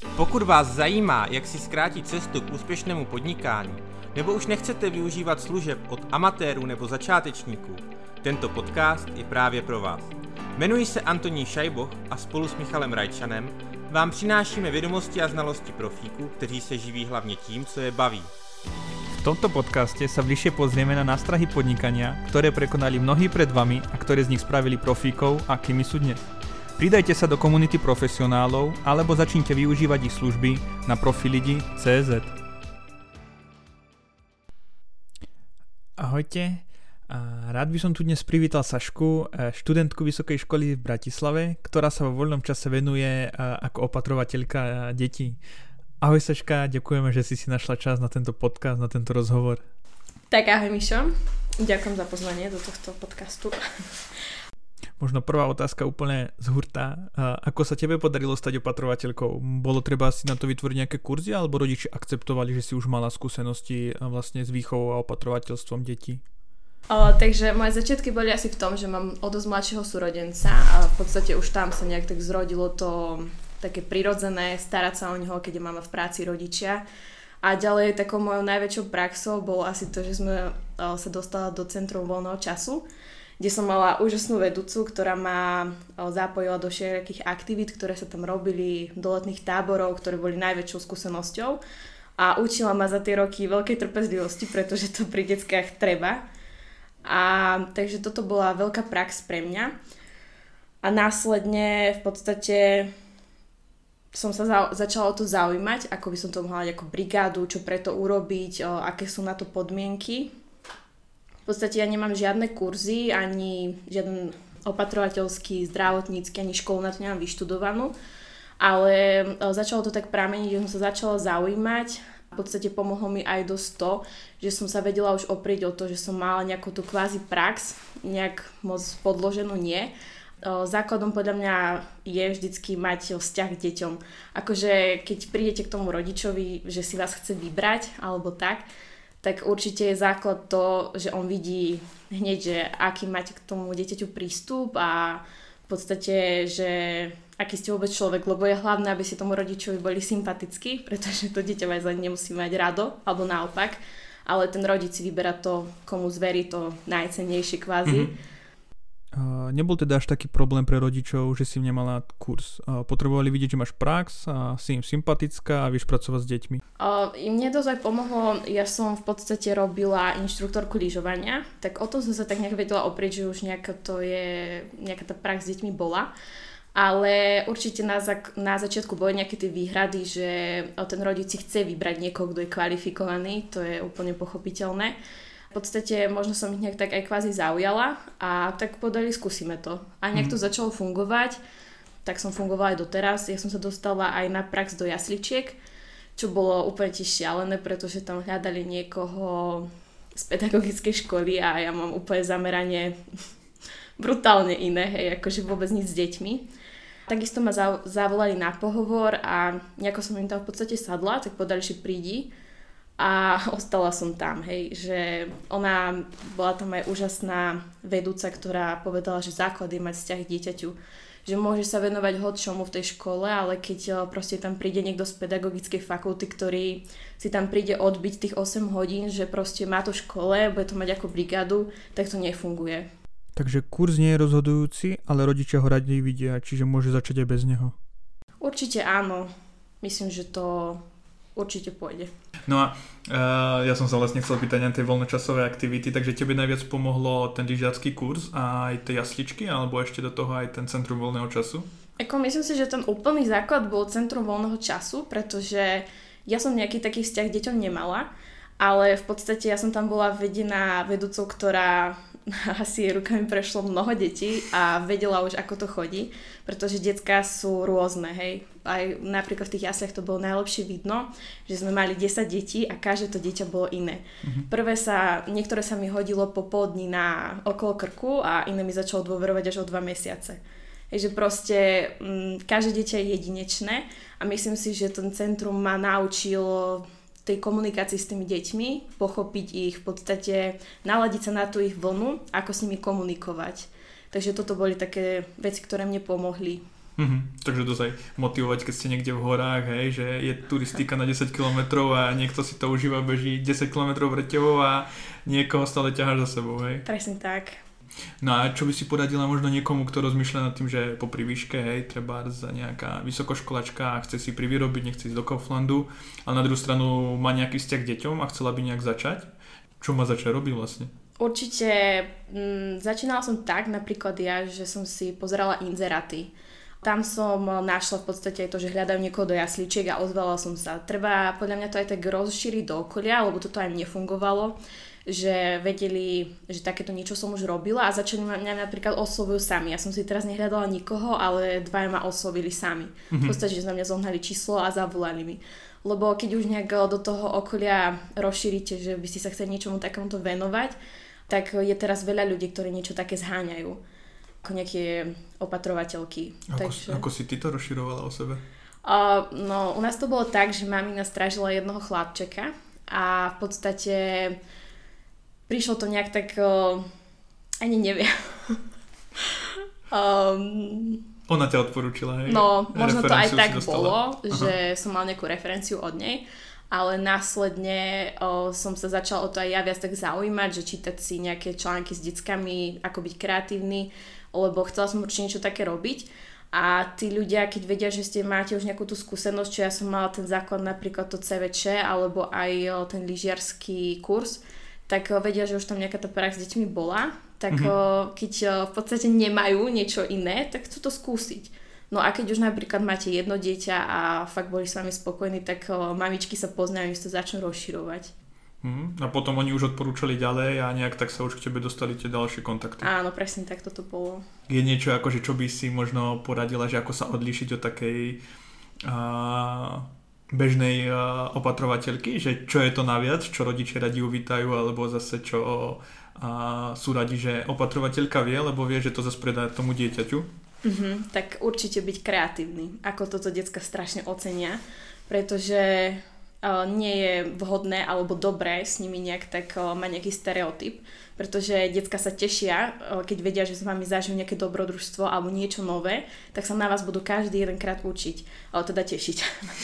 Pokud vás zajímá, jak si zkrátit cestu k úspěšnému podnikání, nebo už nechcete využívat služeb od amatérů nebo začátečníků, tento podcast je právě pro vás. Jmenuji se Antonín Šajboch a spolu s Michalem Rajčanem vám přinášíme vědomosti a znalosti profíků, kteří se živí hlavně tím, co je baví. V tomto podcaste sa bližšie pozrieme na nástrahy podnikania, ktoré prekonali mnohí pred vami a ktoré z nich spravili profíkov, akými sú dnes. Pridajte sa do komunity profesionálov alebo začnite využívať ich služby na profilidi.cz. Ahojte, rád by som tu dnes privítal Sašku, študentku Vysokej školy v Bratislave, ktorá sa vo voľnom čase venuje ako opatrovateľka detí. Ahoj Saška, ďakujeme, že si našla čas na tento podcast, na tento rozhovor. Tak ahoj Mišo, ďakujem za pozvanie do tohto podcastu. Možno prvá otázka úplne z hurta. Ako sa tebe podarilo stať opatrovateľkou? Bolo treba si na to vytvoriť nejaké kurzy, alebo rodiči akceptovali, že si už mala skúsenosti vlastne s výchovou a opatrovateľstvom detí? Takže moje začiatky boli asi v tom, že mám o dosť mladšieho súrodenca a v podstate už tam sa nejak tak zrodilo to také prirodzené, starať sa o neho, keď je mama v práci, rodičia. A ďalej takou mojou najväčšou praxou bolo asi to, že sme sa dostala do Centrum voľného času, kde som mala úžasnú vedúcu, ktorá ma zapojila do všetkých aktivít, ktoré sa tam robili, do letných táborov, ktoré boli najväčšou skúsenosťou a učila ma za tie roky veľkej trpezlivosti, pretože to pri deckách treba. A takže toto bola veľká prax pre mňa. A následne v podstate som sa začala o to zaujímať, ako by som to mohla mať ako brigádu, čo preto urobiť, aké sú na to podmienky. V podstate ja nemám žiadne kurzy, ani žiaden opatrovateľský, zdravotnícky, ani školu na to nemám vyštudovanú, ale začalo to tak prameniť, že som sa začala zaujímať. V podstate pomohlo mi aj dosť to, že som sa vedela už oprieť o to, že som mala nejakú tú kvázi prax, nejak moc podloženú nie. Základom podľa mňa je vždycky mať vzťah k deťom. Akože keď prídete k tomu rodičovi, že si vás chce vybrať alebo tak určite je základ to, že on vidí hneď, že aký máte k tomu dieťaťu prístup a v podstate, že aký ste vôbec človek, lebo je hlavné, aby si tomu rodičovi boli sympatickí, pretože to dieťa vás ani nemusí mať rado, alebo naopak, ale ten rodič si vyberá to, komu zverí to najcennejšie kvázi. Nebol teda až taký problém pre rodičov, že si nemala kurz. Potrebovali vidieť, že máš prax a si im sympatická a vieš pracovať s deťmi? Mne dosť aj pomohlo, ja som v podstate robila inštruktorku lyžovania, tak o tom som sa tak nejak vedela oprieť, že už nejaká tá prax s deťmi bola. Ale určite na začiatku boli nejaké tie výhrady, že ten rodič si chce vybrať niekoho, kto je kvalifikovaný, to je úplne pochopiteľné. V podstate možno som ich nejak tak aj kvázi zaujala a tak povedali, skúsime to. A nejak to začalo fungovať, tak som fungovala aj doteraz. Ja som sa dostala aj na prax do jasličiek, čo bolo úplne tiež šialené, pretože tam hľadali niekoho z pedagogickej školy a ja mám úplne zameranie brutálne iné, hej, akože vôbec nič s deťmi. Takisto ma zavolali na pohovor a nejako som im tam v podstate sadla, tak povedali, že prídi. A ostala som tam, hej, že bola tam aj úžasná vedúca, ktorá povedala, že základ je mať vzťah k dieťaťu, že môže sa venovať hocčomu v tej škole, ale keď proste tam príde niekto z pedagogickej fakulty, ktorý si tam príde odbiť tých 8 hodín, že proste má to v škole, bude to mať ako brigádu, tak to nefunguje. Takže kurz nie je rozhodujúci, ale rodičia ho radi vidia, čiže môže začať aj bez neho. Určite áno, myslím, že to určite pôjde. No a ja som sa vlastne chcel pýtať na tie voľnočasové aktivity, takže tebe najviac pomohlo ten lyžiarsky kurz a aj tie jasličky, alebo ešte do toho aj ten Centrum voľného času? Myslím si, že ten úplný základ bol Centrum voľného času, pretože ja som nejaký taký vzťah k deťom nemala, ale v podstate ja som tam bola vedená vedúcou, ktorá asi jej rukami prešlo mnoho detí a vedela už, ako to chodí, pretože decká sú rôzne, hej. Aj napríklad v tých jasliach to bolo najlepšie vidno, že sme mali 10 detí a každé to dieťa bolo iné. Niektoré sa mi hodilo po pol dní na okolo krku a iné mi začalo dôverovať až o 2 mesiace. Hej, že proste každé dieťa je jedinečné a myslím si, že ten centrum ma naučilo tej komunikácii s tými deťmi, pochopiť ich, v podstate naladiť sa na tú ich vlnu, ako s nimi komunikovať. Takže toto boli také veci, ktoré mne pomohli. Takže dosť aj motivovať, keď ste niekde v horách, hej, že je turistika na 10 km a niekto si to užíva, beží 10 km vreťovou a niekoho stále ťaháš za sebou, hej. Presne tak. No a čo by si poradila možno niekomu, kto rozmýšľa nad tým, že popri výške, hej, treba za nejaká vysokoškolačka a chce si privyrobiť, nechce ísť do Kauflandu, ale na druhú stranu má nejaký vzťah k deťom a chcela by nejak začať? Čo má začať robiť vlastne? Určite začínala som tak, napríklad ja, že som si pozerala inzeráty. Tam som našla v podstate aj to, že hľadajú niekoho do jasličiek a ozvala som sa. Treba podľa mňa to aj tak rozšíriť do okolia, lebo toto aj nefungovalo, že vedeli, že takéto niečo som už robila a začali mňa napríklad oslovujú sami. Ja som si teraz nehľadala nikoho, ale dvaja ma oslovili sami. V podstate, že na mňa zohnali číslo a zavolali mi. Lebo keď už nejak do toho okolia rozšírite, že by ste sa chceli niečomu takémuto venovať, tak je teraz veľa ľudí, ktorí niečo také zháňajú. Ako nejaké opatrovateľky. Ako si ty to rozširovala o sebe? No, u nás to bolo tak, že mamina strážila jednoho chlapčeka a v podstate prišlo to nejak tak, ani neviem. Ona ťa odporúčila, hej? No, možno to aj tak bolo, že som mal nejakú referenciu od nej, ale následne som sa začala o to aj ja viac tak zaujímať, že čítať si nejaké články s deckami, ako byť kreatívny, lebo chcela som určite niečo také robiť a tí ľudia, keď vedia, že máte už nejakú tú skúsenosť, čo ja som mala ten základ napríklad to CVČ alebo aj ten lyžiarsky kurz, tak vedia, že už tam nejaká tá prax s deťmi bola, tak keď v podstate nemajú niečo iné, tak chcú to skúsiť. No a keď už napríklad máte jedno dieťa a fakt boli s vami spokojní, tak mamičky sa poznajú, že to začnú rozširovať. A potom oni už odporúčali ďalej a nejak tak sa už k tebe dostali tie ďalšie kontakty. Áno, presne tak toto bolo. Je niečo akože, čo by si možno poradila, že ako sa odlíšiť od takej bežnej opatrovateľky, že čo je to naviac, čo rodičia radi uvítajú, alebo zase čo sú radi, že opatrovateľka vie, lebo vie, že to zase predá tomu dieťaťu? Tak určite byť kreatívny, ako toto decka strašne ocenia, pretože nie je vhodné alebo dobré s nimi nejak tak mať nejaký stereotyp, pretože decka sa tešia, keď vedia, že s vami zažijú nejaké dobrodružstvo alebo niečo nové, tak sa na vás budú každý jedenkrát učiť, ale teda tešiť.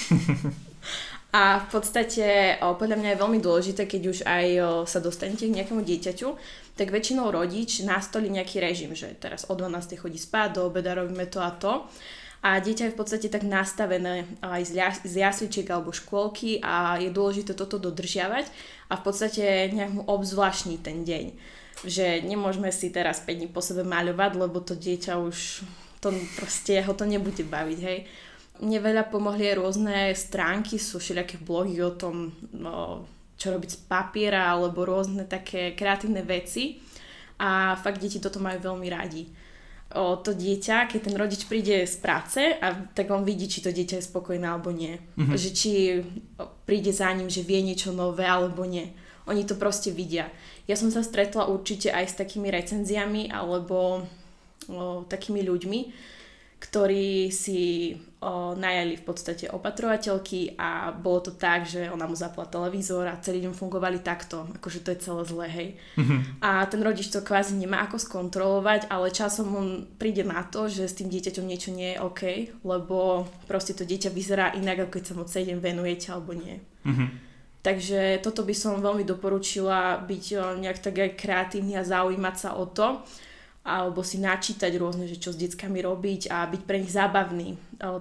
A v podstate podľa mňa je veľmi dôležité, keď už aj sa dostanete k nejakému dieťaťu, tak väčšinou rodič nastolí nejaký režim, že teraz o 12. chodí spať, do obeda robíme to a to. A dieťa je v podstate tak nastavené aj z jasličiek alebo škôlky a je dôležité toto dodržiavať a v podstate nejak mu obzvláštniť ten deň. Že nemôžeme si teraz 5 dní po sebe maľovať, lebo to dieťa už to proste ho to nebude baviť, hej. Mne veľa pomohli aj rôzne stránky, sú všelijaké blogy o tom, čo robiť z papiera alebo rôzne také kreatívne veci a fakt deti toto majú veľmi radi. To dieťa, keď ten rodič príde z práce a tak on vidí, či to dieťa je spokojné alebo nie. Že či príde za ním, že vie niečo nové alebo nie. Oni to proste vidia. Ja som sa stretla určite aj s takými recenziami alebo takými ľuďmi, ktorí si najali v podstate opatrovateľky a bolo to tak, že ona mu zapla televízor a celý deň fungovali takto, akože to je celé zlé, hej. A ten rodič to kvázi nemá ako skontrolovať, ale časom on príde na to, že s tým dieťaťom niečo nie je OK, lebo proste to dieťa vyzerá inak, ako keď sa mu celý deň venujete alebo nie. Takže toto by som veľmi doporučila, byť nejak tak aj kreatívny a zaujímať sa o to, alebo si načítať rôzne, že čo s deckami robiť a byť pre nich zábavný,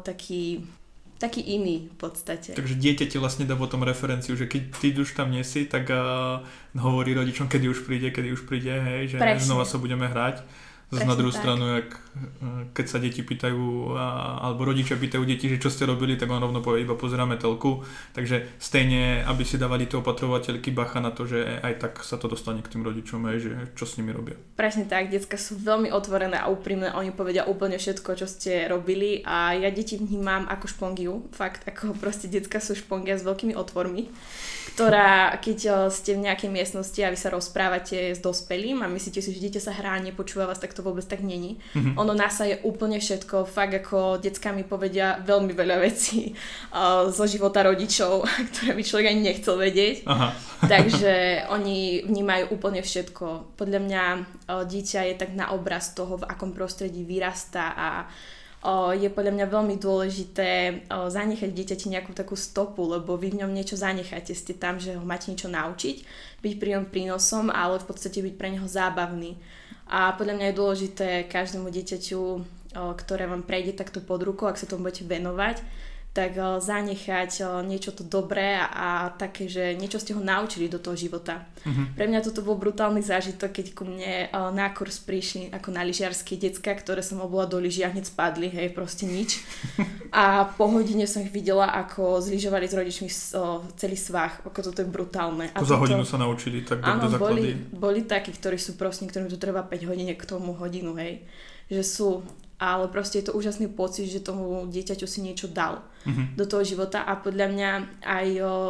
taký iný v podstate. Takže dieťa ti vlastne dá potom referenciu, že keď ty už tam nie si, tak hovorí rodičom, kedy už príde, hej, že presne. Znova sa budeme hrať. Zase na druhú stranu, keď sa deti pýtajú, alebo rodičia pýtajú deti, že čo ste robili, tak on rovno povie, iba pozeráme telku. Takže stejne, aby si dávali tie opatrovateľky bacha na to, že aj tak sa to dostane k tým rodičom, že čo s nimi robia. Presne tak, decká sú veľmi otvorené a úprimné, oni povedia úplne všetko, čo ste robili a ja deti vnímam ako špongiu, fakt, ako proste decká sú špongia s veľkými otvormi, ktorá, keď ste v nejakej miestnosti a vy sa rozprávate s dospelým a myslíte si, že dieťa sa hrá a nepočúva vás, tak to vôbec tak není. Ono nasaje úplne všetko, fakt ako decká mi povedia veľmi veľa vecí zo života rodičov, ktoré by človek ani nechcel vedieť. Takže oni vnímajú úplne všetko. Podľa mňa dieťa je tak na obraz toho, v akom prostredí vyrastá a je podľa mňa veľmi dôležité zanechať dieťati nejakú takú stopu, lebo vy v ňom niečo zanecháte, ste tam, že ho máte niečo naučiť, byť pri ňom prínosom, ale v podstate byť pre neho zábavný. A podľa mňa je dôležité každému dieťaťu, ktoré vám prejde takto pod rukou, ak sa tomu budete venovať, tak zanechať niečo to dobré a také, že niečo ste ho naučili do toho života. Pre mňa toto bol brutálny zážitok, keď ku mne na kurz prišli ako na lyžiarske decka, ktoré som obula do lyží a hneď spadli, hej, proste nič. A po hodine som ich videla, ako zlyžovali s rodičmi celý svah, ako toto je brutálne. A za hodinu sa naučili, tak do základy. Boli takí, ktorí sú proste, ktorým tu treba 5 hodín k tomu hodinu, hej, že sú... Ale proste je to úžasný pocit, že tomu dieťaťu si niečo dal do toho života a podľa mňa aj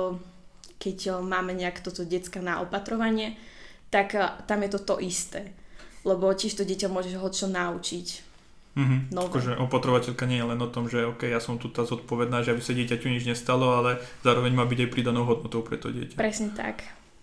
keď máme nejak toto decka na opatrovanie, tak tam je to isté. Lebo tiež to dieťa môže ho čo naučiť. Akože opatrovateľka nie je len o tom, že OK, ja som tu tá zodpovedná, že aby sa dieťaťu nič nestalo, ale zároveň má byť aj pridanou hodnotou pre to dieťa. Presne tak.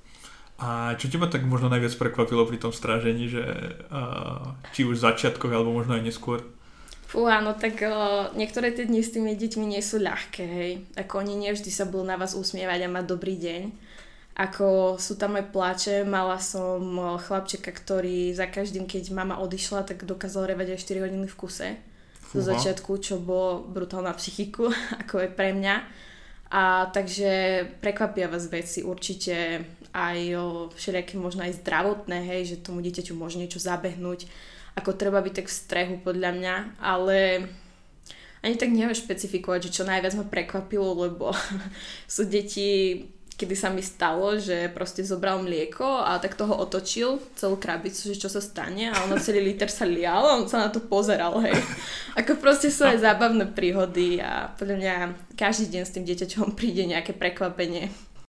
A čo teba tak možno najviac prekvapilo pri tom strážení, že či už v začiatkoch, alebo možno aj neskôr? Áno, tak niektoré tie dni s tými deťmi nie sú ľahké, hej. Ako oni nevždy sa budú na vás usmievať a mať dobrý deň. Ako sú tam aj pláče, mala som chlapčeka, ktorý za každým, keď mama odišla, tak dokázal revať aj 4 hodiny v kuse. Do začiatku, čo bolo brutálna psychiku, ako je pre mňa. A takže prekvapia vás veci určite aj všelijaké možno aj zdravotné, hej, že tomu dieťaťu môže niečo zabehnúť, ako treba byť tak v strehu podľa mňa, ale ani tak neviem špecifikovať, že čo najviac ma prekvapilo, lebo sú deti, kedy sa mi stalo, že proste zobral mlieko a tak toho otočil celú krabicu, že čo sa stane a ono celý liter sa lial a on sa na to pozeral, hej. Ako proste sú aj zábavné príhody a podľa mňa každý deň s tým dieťaťom príde nejaké prekvapenie.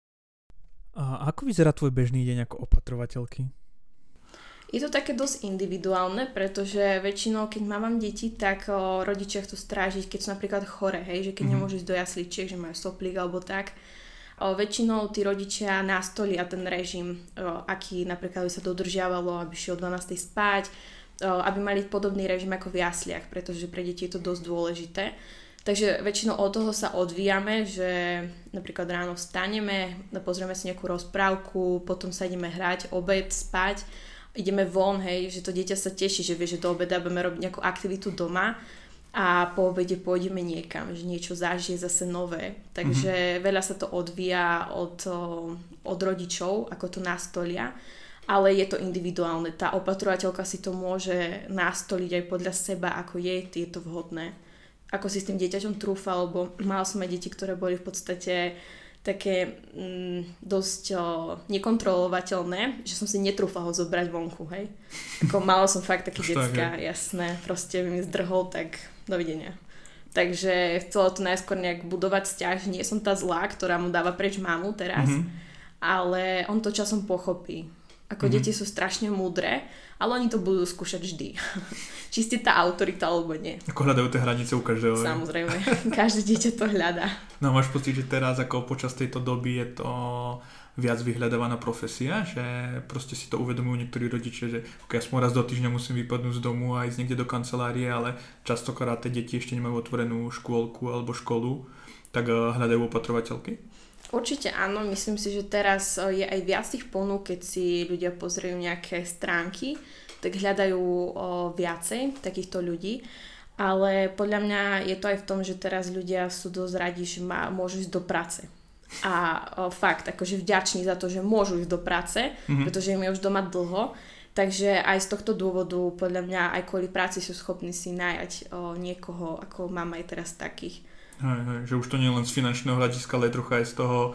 A ako vyzerá tvoj bežný deň ako opatrovateľky? Je to také dosť individuálne, pretože väčšinou, keď mám deti, tak rodičia chcú strážiť, keď sú napríklad chore, hej, že keď nemôžu ísť do jasličiek, že majú soplík alebo tak. Väčšinou tí rodičia nastolia ten režim, aký napríklad by sa dodržiavalo, aby šiel o 12 spať, aby mali podobný režim ako v jasliach, pretože pre deti je to dosť dôležité. Takže väčšinou od toho sa odvíjame, že napríklad ráno vstaneme, pozrieme si nejakú rozprávku, potom sa ideme hrať, obed, spať, ideme von, hej, že to dieťa sa teší, že vie, že do obeda budeme robiť nejakú aktivitu doma a po obede pôjdeme niekam, že niečo zažije zase nové. Takže veľa sa to odvíja od rodičov, ako to nastolia, ale je to individuálne. Tá opatrovateľka si to môže nastoliť aj podľa seba, ako je to vhodné. Ako si s tým dieťaťom trúfa, lebo mala som aj deti, ktoré boli v podstate také dosť nekontrolovateľné, že som si netrúfala ho zobrať vonku, hej. Ako mala som fakt také decka, jasné, proste by mi zdrhol, tak dovidenia. Takže chcela to najskôr nejak budovať vzťah, že nie som tá zlá, ktorá mu dáva preč mamu teraz, ale on to časom pochopí. Ako deti sú strašne múdre, ale oni to budú skúšať vždy. Či ste tá autorita, alebo nie. Ako hľadajú tie hranice u každého. Samozrejme, každé dieťa to hľadá. No máš pocit, že teraz ako počas tejto doby je to viac vyhľadávaná profesia, že proste si to uvedomujú niektorí rodičia, že okay, aspoň raz do týždňa musím vypadnúť z domu a ísť niekde do kancelárie, ale častokrát tie deti ešte nemajú otvorenú škôlku alebo školu, tak hľadajú opatrovateľky? Určite áno, myslím si, že teraz je aj viac tých ponúk, keď si ľudia pozriejú nejaké stránky, tak hľadajú viacej takýchto ľudí, ale podľa mňa je to aj v tom, že teraz ľudia sú dosť radi, že môžu ísť do práce. A fakt, akože vďační za to, že môžu ísť do práce, pretože im je už doma dlho, takže aj z tohto dôvodu podľa mňa aj kvôli práci sú schopní si nájať niekoho, ako mám aj teraz takých. Že už to nie je len z finančného hľadiska, ale trocha aj z toho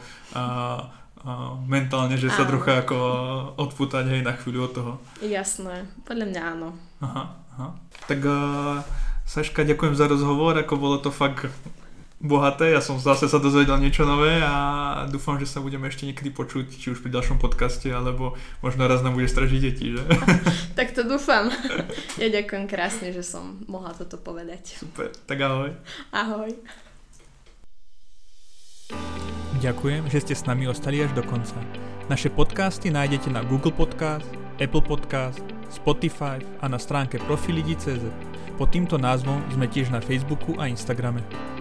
mentálne, že sa trocha ako odpútať aj na chvíľu od toho. Jasné, podľa mňa áno. Aha. Tak Saška, ďakujem za rozhovor, ako bolo to fakt bohaté, ja som zase sa dozvedel niečo nové a dúfam, že sa budeme ešte niekedy počuť, či už pri ďalšom podcaste, alebo možno raz nám bude stražiť deti, že? Tak to dúfam. Ja ďakujem krásne, že som mohla toto povedať. Super, tak ahoj. Ahoj. Ďakujem, že ste s nami ostali až do konca. Naše podcasty nájdete na Google Podcast, Apple Podcast, Spotify a na stránke profilidi.cz. Pod týmto názvom sme tiež na Facebooku a Instagrame.